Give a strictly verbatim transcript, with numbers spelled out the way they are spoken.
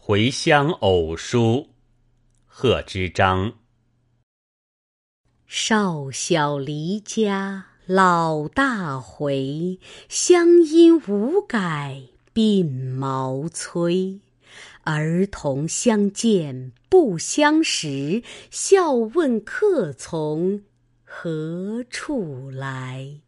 回乡偶书，贺知章。 少小离家老大回，乡音无改鬓毛衰。儿童相见不相识，笑问客从何处来。